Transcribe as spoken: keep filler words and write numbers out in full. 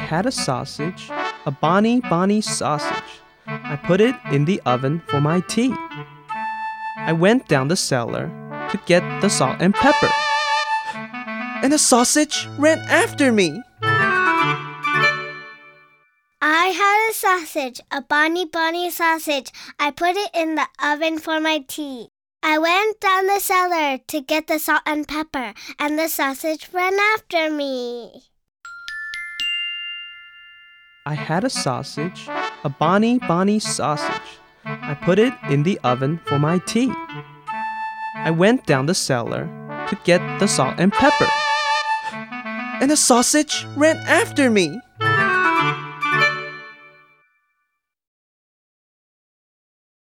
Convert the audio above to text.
had a sausage, a bonny, bonny sausage. I put it in the oven for my tea. I went down the cellar to get the salt and pepper. And the sausage ran after me. I had a sausage, a bonny, bonny sausage. I put it in the oven for my tea. I went down the cellar to get the salt and pepper, and the sausage ran after me. I had a sausage, a bonny, bonny sausage. I put it in the oven for my tea. I went down the cellar to get the salt and pepper. And the sausage ran after me.